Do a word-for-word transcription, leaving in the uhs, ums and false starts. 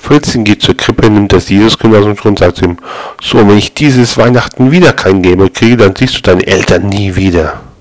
Fritzchen geht zur Krippe, nimmt das Jesuskind aus dem Schuh und sagt zu ihm: So, wenn ich dieses Weihnachten wieder kein Gameboy kriege, dann siehst du deine Eltern nie wieder.